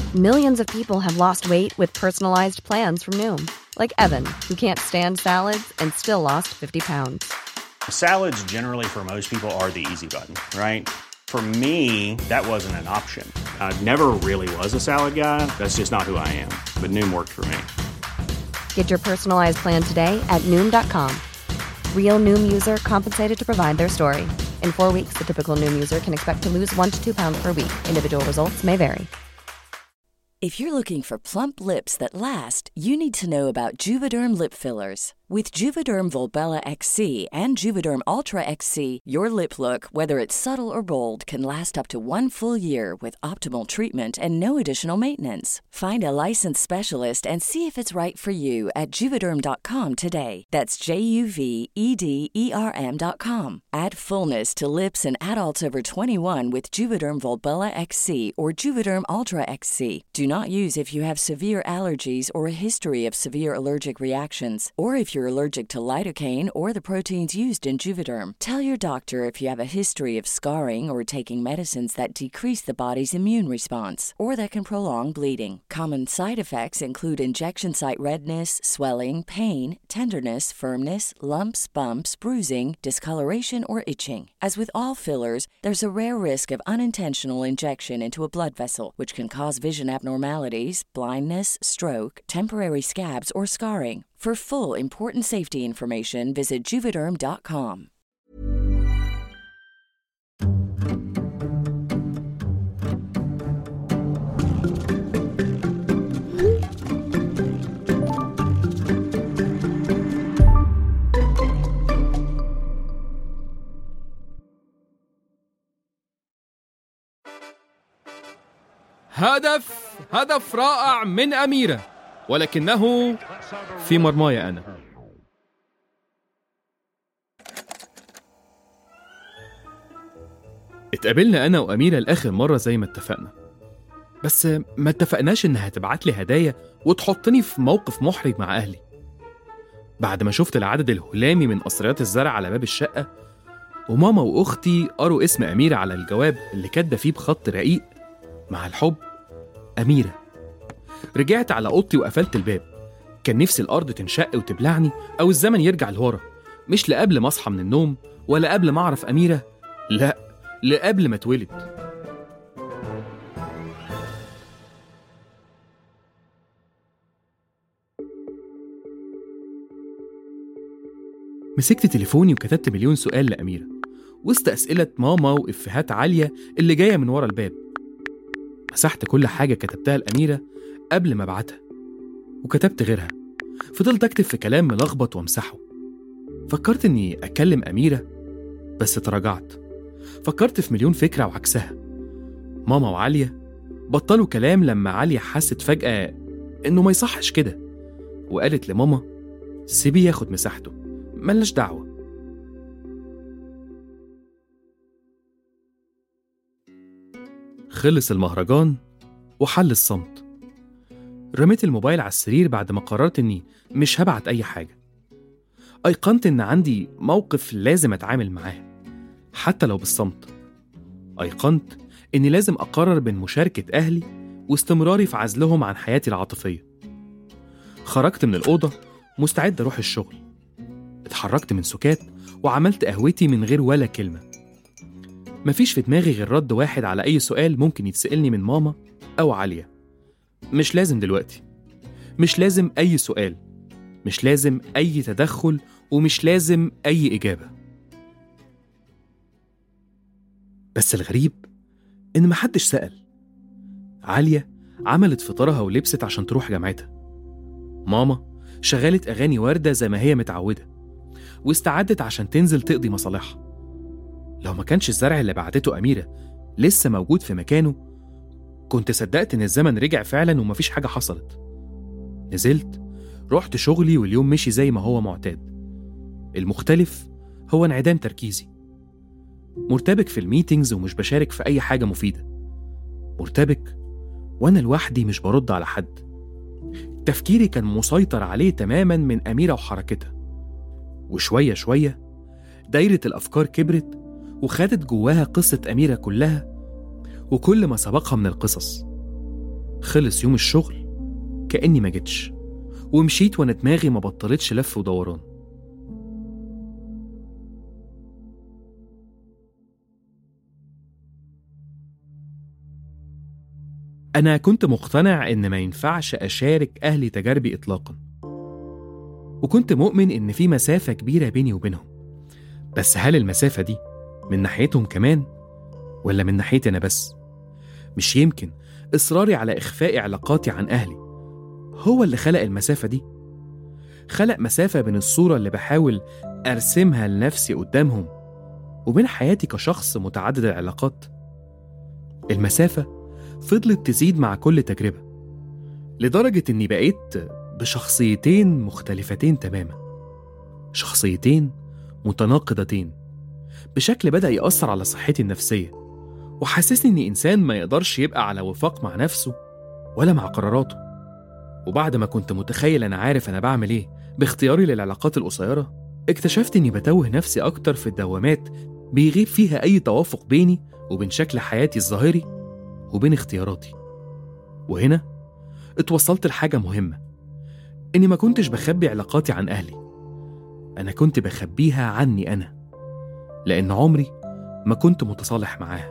Millions of people have lost weight with personalized plans from Noom, like Evan, who can't stand salads and still lost 50 pounds. Salads generally for most people are the easy button, right? For me, that wasn't an option. I never really was a salad guy. That's just not who I am. But Noom worked for me. Get your personalized plan today at Noom.com. Real Noom user compensated to provide their story. In 4 weeks, the typical Noom user can expect to lose 1 to 2 pounds per week. Individual results may vary. If you're looking for plump lips that last, you need to know about Juvederm lip fillers. With Juvederm Volbella XC and Juvederm Ultra XC, your lip look, whether it's subtle or bold, can last up to 1 full year with optimal treatment and no additional maintenance. Find a licensed specialist and see if it's right for you at Juvederm.com today. That's JUVEDERM.com. Add fullness to lips in adults over 21 with Juvederm Volbella XC or Juvederm Ultra XC. Do not use if you have severe allergies or a history of severe allergic reactions, or if you're allergic to lidocaine or the proteins used in Juvederm. Tell your doctor if you have a history of scarring or taking medicines that decrease the body's immune response or that can prolong bleeding. Common side effects include injection site redness, swelling, pain, tenderness, firmness, lumps, bumps, bruising, discoloration, or itching. As with all fillers, there's a rare risk of unintentional injection into a blood vessel, which can cause vision abnormalities, blindness, stroke, temporary scabs, or scarring. For full important safety information, visit Juvederm.com. هدف رائع من أميرة، ولكنه في مرماي أنا. اتقابلنا أنا وأميرة الآخر مرة زي ما اتفقنا، بس ما اتفقناش إنها تبعت لي هدايا وتحطني في موقف محرج مع أهلي. بعد ما شفت العدد الهلامي من قصريات الزرع على باب الشقة، وماما وأختي قروا اسم أميرة على الجواب اللي كاتبة فيه بخط رقيق مع الحب أميرة، رجعت على أوضتي وقفلت الباب. كان نفسي الأرض تنشق وتبلعني أو الزمن يرجع لورا، مش لقبل ما أصحى من النوم ولا قبل ما أعرف أميرة، لا، لقبل ما اتولد. مسكت تليفوني وكتبت مليون سؤال لأميرة وسط أسئلة ماما وإفيهات عالية اللي جاية من ورا الباب. مسحت كل حاجة كتبتها لأميرة قبل ما ابعتها وكتبت غيرها. فضلت أكتب في كلام ملخبط وامسحه. فكرت إني أكلم أميرة بس تراجعت. فكرت في مليون فكرة وعكسها. ماما وعالية بطلوا كلام لما عالية حست فجأة إنه ما يصحش كده، وقالت لماما سيبيه ياخد مساحته، ملناش دعوة. خلص المهرجان وحل الصمت. رميت الموبايل على السرير بعد ما قررت إني مش هبعت أي حاجة. أيقنت إن عندي موقف لازم أتعامل معاه حتى لو بالصمت. أيقنت إني لازم أقرر بين مشاركة أهلي واستمراري في عزلهم عن حياتي العاطفية. خرجت من الأوضة مستعد أروح الشغل. اتحركت من سكات وعملت قهوتي من غير ولا كلمة. مفيش في دماغي غير رد واحد على أي سؤال ممكن يتسألني من ماما أو عالية. مش لازم دلوقتي، مش لازم أي سؤال، مش لازم أي تدخل، ومش لازم أي إجابة. بس الغريب إن محدش سأل. عالية عملت فطارها ولبست عشان تروح جامعتها. ماما شغلت أغاني وردة زي ما هي متعودة واستعدت عشان تنزل تقضي مصالحها. لو ما كانش الزرع اللي بعتته أميرة لسه موجود في مكانه كنت صدقت إن الزمن رجع فعلا ومفيش حاجة حصلت. نزلت رحت شغلي واليوم مشي زي ما هو معتاد. المختلف هو انعدام تركيزي. مرتبك في الميتينجز ومش بشارك في أي حاجة مفيدة. مرتبك وأنا لوحدي مش برد على حد. تفكيري كان مسيطر عليه تماما من أميرة وحركتها. وشوية شوية دايرة الأفكار كبرت وخدت جواها قصة أميرة كلها وكل ما سبقها من القصص. خلص يوم الشغل كأني ما جتش، ومشيت وأنا دماغي ما بطلتش لف ودوران. أنا كنت مقتنع إن ما ينفعش أشارك أهلي تجاربي إطلاقاً، وكنت مؤمن إن في مسافة كبيرة بيني وبينهم. بس هل المسافة دي من ناحيتهم كمان ولا من ناحيتي أنا بس؟ مش يمكن إصراري على إخفاء علاقاتي عن أهلي هو اللي خلق المسافة دي؟ خلق مسافة بين الصورة اللي بحاول أرسمها لنفسي قدامهم وبين حياتي كشخص متعدد العلاقات. المسافة فضلت تزيد مع كل تجربة، لدرجة إني بقيت بشخصيتين مختلفتين تماما، شخصيتين متناقضتين بشكل بدأ يأثر على صحتي النفسية، وحسسني إني إنسان ما يقدرش يبقى على وفاق مع نفسه ولا مع قراراته. وبعد ما كنت متخيل أنا عارف أنا بعمل إيه باختياري للعلاقات القصيرة، اكتشفت إني بتوه نفسي أكتر في الدوامات بيغيب فيها أي توافق بيني وبين شكل حياتي الظاهري وبين اختياراتي. وهنا اتوصلت لحاجة مهمة، إني ما كنتش بخبي علاقاتي عن أهلي، أنا كنت بخبيها عني أنا، لأن عمري ما كنت متصالح معاها.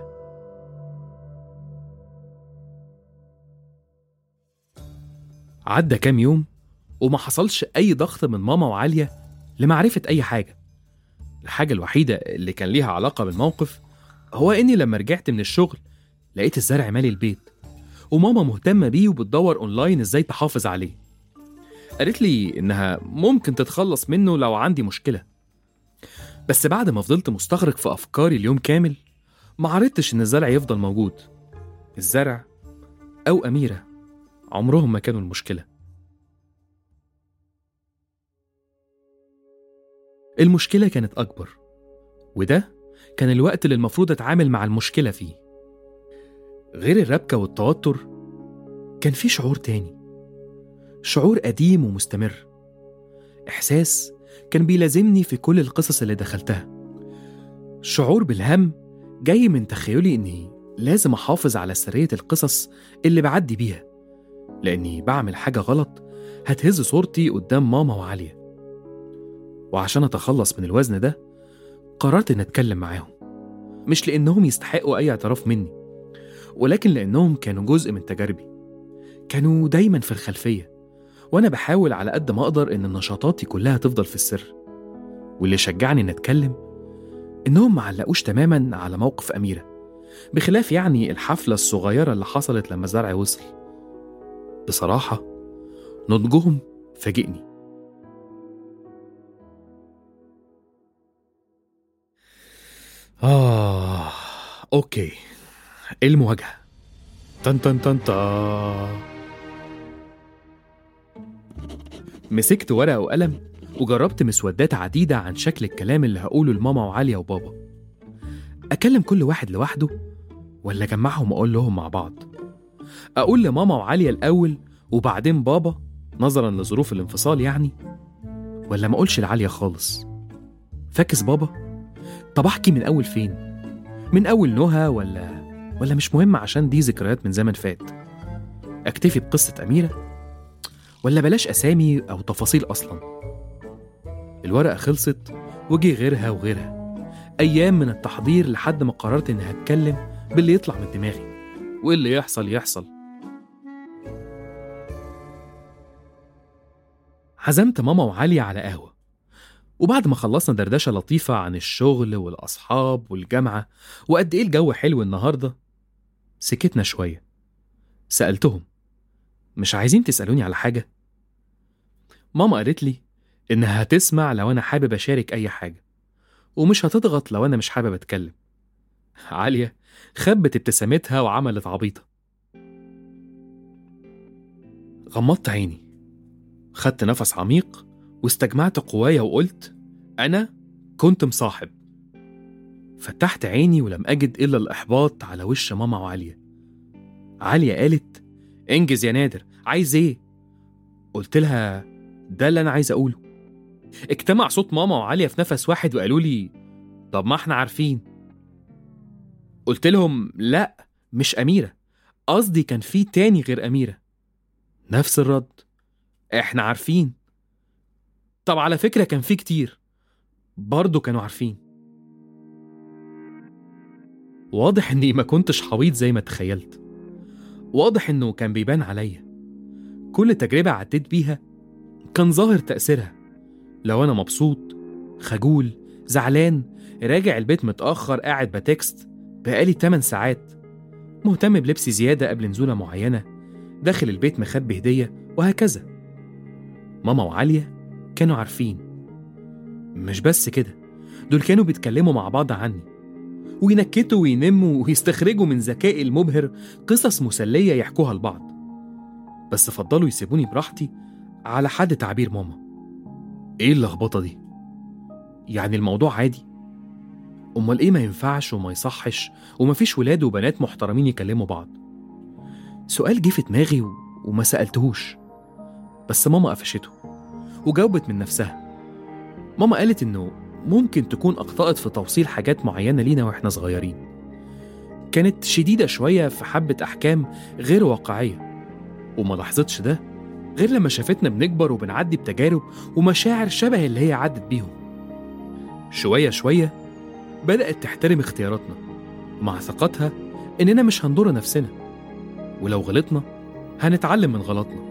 عدى كام يوم وما حصلش أي ضغط من ماما وعالية لمعرفة أي حاجة. الحاجة الوحيدة اللي كان ليها علاقة بالموقف هو إني لما رجعت من الشغل لقيت الزرع مالي البيت، وماما مهتمة بيه وبتدور أونلاين إزاي تحافظ عليه. قالت لي إنها ممكن تتخلص منه لو عندي مشكلة. بس بعد ما فضلت مستغرق في أفكاري اليوم كامل ما عرفتش إن الزرع يفضل موجود. الزرع أو أميرة عمرهم ما كانوا المشكلة. المشكلة كانت أكبر، وده كان الوقت اللي المفروض أتعامل مع المشكلة فيه. غير الربكة والتوتر كان في شعور تاني، شعور قديم ومستمر، إحساس كان بيلازمني في كل القصص اللي دخلتها، شعور بالهم جاي من تخيلي إني لازم أحافظ على سرية القصص اللي بعدي بيها، لأني بعمل حاجة غلط هتهز صورتي قدام ماما وعالية. وعشان أتخلص من الوزن ده قررت إن أتكلم معاهم، مش لأنهم يستحقوا أي اعتراف مني، ولكن لأنهم كانوا جزء من تجاربي، كانوا دايما في الخلفية، وأنا بحاول على قد ما أقدر إن نشاطاتي كلها تفضل في السر. واللي شجعني إن أتكلم إنهم معلقوش تماما على موقف أميرة، بخلاف يعني الحفلة الصغيرة اللي حصلت لما زرع وصل. بصراحة نضجهم فاجئني. أوكي، المواجهة. تن تن تن تا. مسكت ورقة وقلم وجربت مسودات عديدة عن شكل الكلام اللي هقوله لماما وعالية وبابا. أكلم كل واحد لوحده ولا أجمعهم وأقول لهم مع بعض؟ أقول لماما وعالية الأول وبعدين بابا نظرا لظروف الانفصال يعني، ولا ما أقولش لعالية خالص؟ فاكس بابا؟ طب أحكي من أول فين؟ من أول نهى ولا مش مهم عشان دي ذكريات من زمن فات؟ أكتفي بقصة أميرة ولا بلاش أسامي أو تفاصيل أصلا؟ الورقة خلصت وجي غيرها وغيرها، أيام من التحضير لحد ما قررت إني هتكلم باللي يطلع من دماغي، واللي يحصل يحصل. عزمت ماما وعالية على قهوة، وبعد ما خلصنا دردشة لطيفة عن الشغل والأصحاب والجامعة وقد إيه الجو حلو النهاردة، سكتنا شوية. سألتهم مش عايزين تسألوني على حاجة؟ ماما قالت لي إنها هتسمع لو أنا حابب أشارك أي حاجة، ومش هتضغط لو أنا مش حابب أتكلم. عالية خبت ابتسامتها وعملت عبيطة. غمضت عيني، خدت نفس عميق واستجمعت قوايا وقلت أنا كنت مصاحب. فتحت عيني ولم أجد إلا الإحباط على وش ماما وعالية. عالية قالت انجز يا نادر، عايز إيه؟ قلت لها ده اللي أنا عايز أقوله. اجتمع صوت ماما وعالية في نفس واحد وقالوا لي طب ما احنا عارفين. قلت لهم لا مش أميرة، قصدي كان في تاني غير أميرة. نفس الرد، احنا عارفين. طب على فكرة كان في كتير برضو كانوا عارفين. واضح اني ما كنتش حويط زي ما تخيلت. واضح انه كان بيبان عليا. كل تجربة عديت بيها كان ظاهر تأثيرها. لو أنا مبسوط، خجول، زعلان، راجع البيت متأخر، قاعد بتكست بقالي 8 ساعات، مهتم بلبسي زيادة قبل نزولة معينة، داخل البيت مخبي هدية، وهكذا. ماما وعالية كانوا عارفين. مش بس كده، دول كانوا بيتكلموا مع بعض عني وينكتوا وينموا ويستخرجوا من ذكائي المبهر قصص مسلية يحكوها لبعض، بس فضلوا يسيبوني براحتي على حد تعبير ماما. ايه اللخبطة دي؟ يعني الموضوع عادي؟ امال ايه ما ينفعش وما يصحش ومفيش ولاد وبنات محترمين يكلموا بعض؟ سؤال جه في دماغي وما سألتهوش، بس ماما قفشته وجاوبت من نفسها. ماما قالت انه ممكن تكون أخطأت في توصيل حاجات معينة لينا وإحنا صغيرين. كانت شديدة شوية في حبة أحكام غير واقعية، وما لاحظتش ده غير لما شافتنا بنكبر وبنعدي بتجارب ومشاعر شبه اللي هي عدت بيهم. شوية شوية بدأت تحترم اختياراتنا مع ثقتها إننا مش هنضر نفسنا، ولو غلطنا هنتعلم من غلطنا.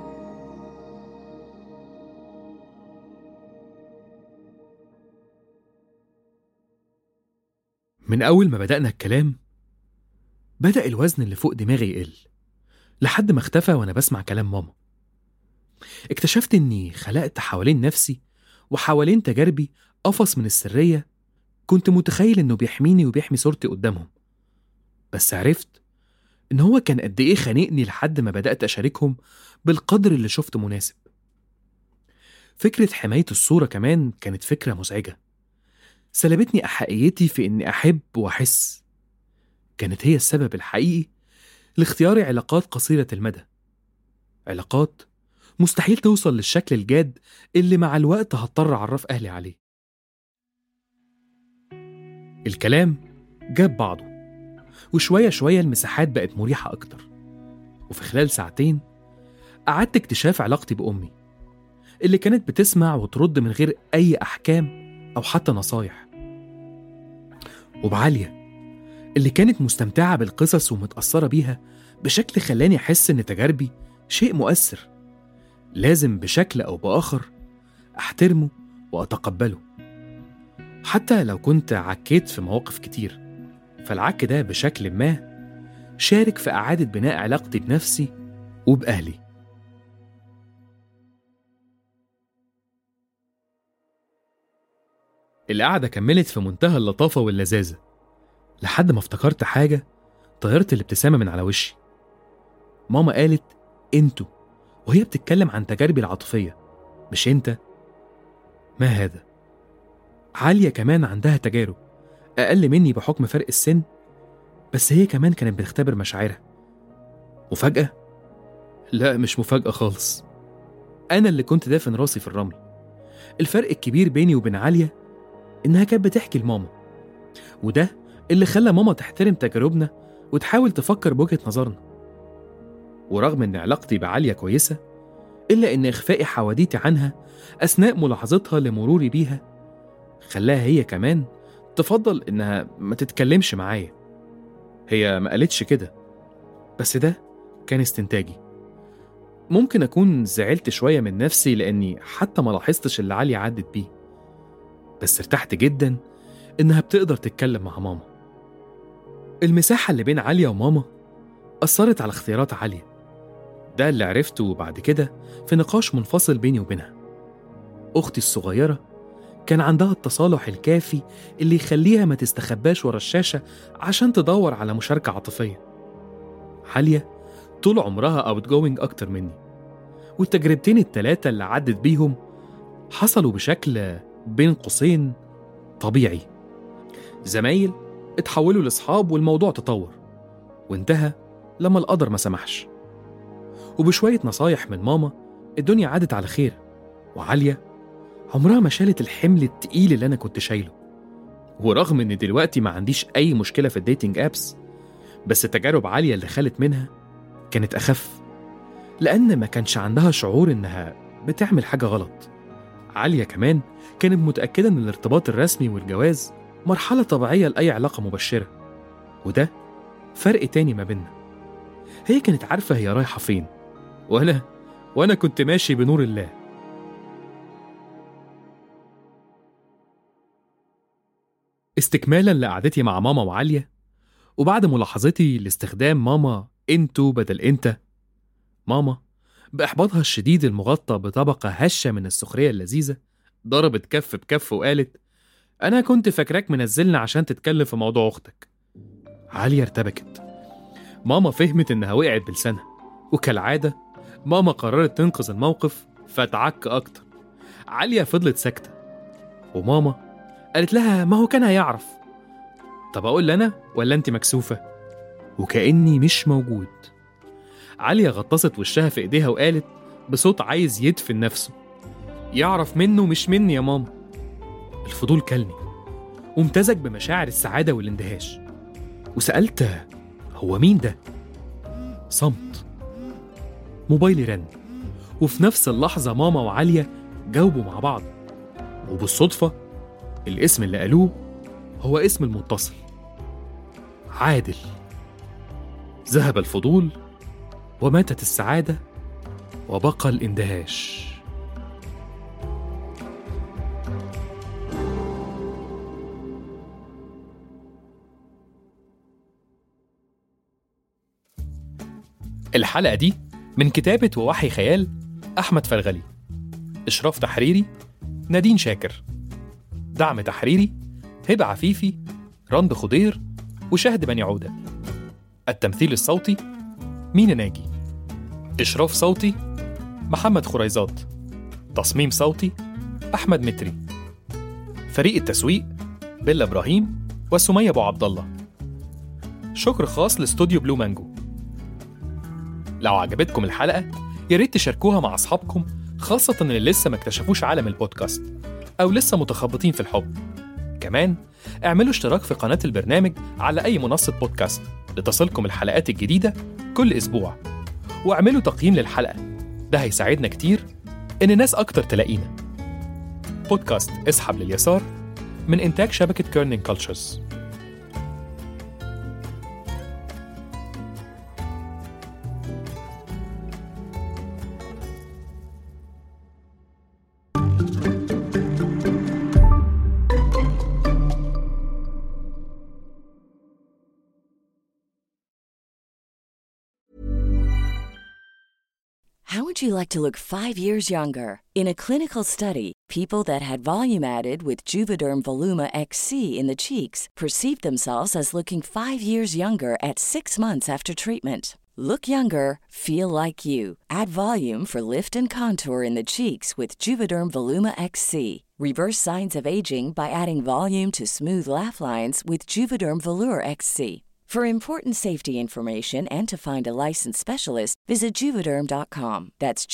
من أول ما بدأنا الكلام بدأ الوزن اللي فوق دماغي يقل، لحد ما اختفى وأنا بسمع كلام ماما. اكتشفت إني خلقت حوالين نفسي وحوالين تجاربي قفص من السرية كنت متخيل إنه بيحميني وبيحمي صورتي قدامهم، بس عرفت إن هو كان قد إيه خانقني لحد ما بدأت أشاركهم بالقدر اللي شفته مناسب. فكرة حماية الصورة كمان كانت فكرة مزعجة، سلبتني أحقيتي في إني أحب وأحس. كانت هي السبب الحقيقي لاختياري علاقات قصيرة المدى، علاقات مستحيل توصل للشكل الجاد اللي مع الوقت هضطر أعرف أهلي عليه. الكلام جاب بعضه، وشوية شوية المساحات بقت مريحة أكتر، وفي خلال ساعتين أعدت اكتشاف علاقتي بأمي اللي كانت بتسمع وترد من غير أي أحكام أو حتى نصايح، وبعالية اللي كانت مستمتعة بالقصص ومتأثرة بيها بشكل خلاني أحس إن تجاربي شيء مؤثر لازم بشكل أو بآخر أحترمه وأتقبله، حتى لو كنت عكيت في مواقف كتير. فالعك ده بشكل ما شارك في إعادة بناء علاقتي بنفسي وبأهلي. القعدة كملت في منتهى اللطافة واللذاذة لحد ما افتكرت حاجة طيرت الابتسامة من على وشي. ماما قالت انتوا وهي بتتكلم عن تجاربي العاطفية، مش انت. ما هذا؟ عالية كمان عندها تجارب أقل مني بحكم فرق السن، بس هي كمان كانت بتختبر مشاعرها. مفاجأة؟ لا مش مفاجأة خالص، أنا اللي كنت دافن راسي في الرمل. الفرق الكبير بيني وبين عالية إنها كانت بتحكي لماما، وده اللي خلى ماما تحترم تجاربنا وتحاول تفكر بوجهة نظرنا. ورغم إن علاقتي بعالية كويسة، إلا إن إخفائي حواديتي عنها أثناء ملاحظتها لمروري بيها خلاها هي كمان تفضل إنها ما تتكلمش معايا. هي ما قالتش كده، بس ده كان استنتاجي. ممكن أكون زعلت شوية من نفسي لأني حتى ما لاحظتش اللي عالية عدت بيه، بس ارتحت جدا إنها بتقدر تتكلم مع ماما. المساحة اللي بين عالية وماما أثرت على اختيارات عالية، ده اللي عرفته بعد كده في نقاش منفصل بيني وبينها. أختي الصغيرة كان عندها التصالح الكافي اللي يخليها ما تستخباش ورا الشاشة عشان تدور على مشاركة عاطفية. عالية طول عمرها outgoing أكتر مني، والتجربتين التلاتة اللي عدت بيهم حصلوا بشكل بين قوسين طبيعي. زمايل اتحولوا لأصحاب والموضوع تطور وانتهى لما القدر ما سمحش. وبشوية نصايح من ماما الدنيا عادت على خير، وعالية عمرها ما شالت الحمل التقيل اللي أنا كنت شايله. ورغم إن دلوقتي ما عنديش أي مشكلة في الديتنج أبس، بس تجارب عالية اللي خلت منها كانت أخف، لأن ما كانش عندها شعور إنها بتعمل حاجة غلط. عالية كمان كانت متأكدة إن الارتباط الرسمي والجواز مرحلة طبيعية لأي علاقة مبشرة، وده فرق تاني ما بيننا. هي كانت عارفة هي رايحة فين، وأنا كنت ماشي بنور الله. استكمالا لقعدتي مع ماما وعالية، وبعد ملاحظتي لاستخدام ماما انتو بدل انت، ماما بإحباطها الشديد المغطى بطبقة هشة من السخرية اللذيذة ضربت كف بكف وقالت: أنا كنت فاكراك منزلنا عشان تتكلم في موضوع أختك. عالية ارتبكت. ماما فهمت إنها وقعت بلسانها، وكالعادة ماما قررت تنقذ الموقف فتعك أكتر. عالية فضلت ساكتة، وماما قالت لها: ما هو كان هيعرف. طب أقول أنا ولا أنت مكسوفة؟ وكأني مش موجود. عالية غطست وشها في إيديها وقالت بصوت عايز يدفن نفسه: يعرف منه مش مني يا ماما. الفضول كلني وامتزج بمشاعر السعادة والاندهاش، وسألت: هو مين ده؟ صمت. موبايلي رن، وفي نفس اللحظة ماما وعالية جاوبوا مع بعض، وبالصدفة الاسم اللي قالوه هو اسم المتصل: عادل. ذهب الفضول وماتت السعادة وبقى الاندهاش. الحلقة دي من كتابة ووحي خيال أحمد فرغلي، إشراف تحريري نادين شاكر، دعم تحريري هبة عفيفي، رند خضير، وشهد بني عودة. التمثيل الصوتي مينا ناجي، إشراف صوتي محمد خريزات، تصميم صوتي أحمد متري، فريق التسويق بيلا إبراهيم وسمية أبو عبد الله. شكر خاص لاستوديو بلو مانجو. لو عجبتكم الحلقة ياريت تشاركوها مع أصحابكم، خاصة اللي لسه ما اكتشفوش عالم البودكاست أو لسه متخبطين في الحب. كمان اعملوا اشتراك في قناة البرنامج على أي منصة بودكاست لتصلكم الحلقات الجديدة كل أسبوع، واعملوا تقييم للحلقة، ده هيساعدنا كتير إن ناس أكتر تلاقينا. بودكاست اسحب لليسار من إنتاج شبكة كيرنينج كولتشرز. How would you like to look 5 years younger? In a clinical study, people that had volume added with Juvederm Voluma XC in the cheeks perceived themselves as looking 5 years younger at 6 months after treatment. Look younger, feel like you. Add volume for lift and contour in the cheeks with Juvederm Voluma XC. Reverse signs of aging by adding volume to smooth laugh lines with Juvederm Volure XC. For important safety information and to find a licensed specialist, visit Juvederm.com. That's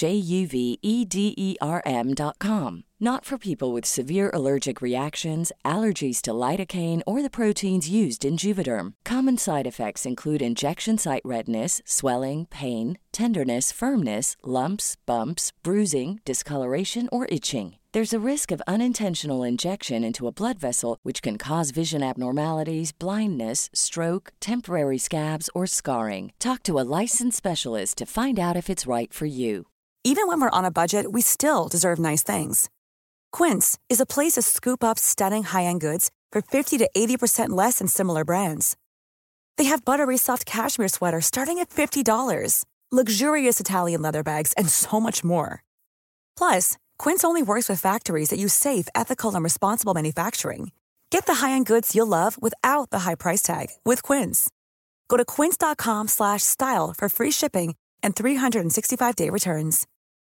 JUVEDERM.com. Not for people with severe allergic reactions, allergies to lidocaine, or the proteins used in Juvederm. Common side effects include injection site redness, swelling, pain, tenderness, firmness, lumps, bumps, bruising, discoloration, or itching. There's a risk of unintentional injection into a blood vessel, which can cause vision abnormalities, blindness, stroke, temporary scabs, or scarring. Talk to a licensed specialist to find out if it's right for you. Even when we're on a budget, we still deserve nice things. Quince is a place to scoop up stunning high-end goods for 50 to 80% less than similar brands. They have buttery soft cashmere sweaters starting at $50, luxurious Italian leather bags, and so much more. Plus, Quince only works with factories that use safe, ethical, and responsible manufacturing. Get the high-end goods you'll love without the high price tag with Quince. Go to quince.com/style for free shipping and 365-day returns.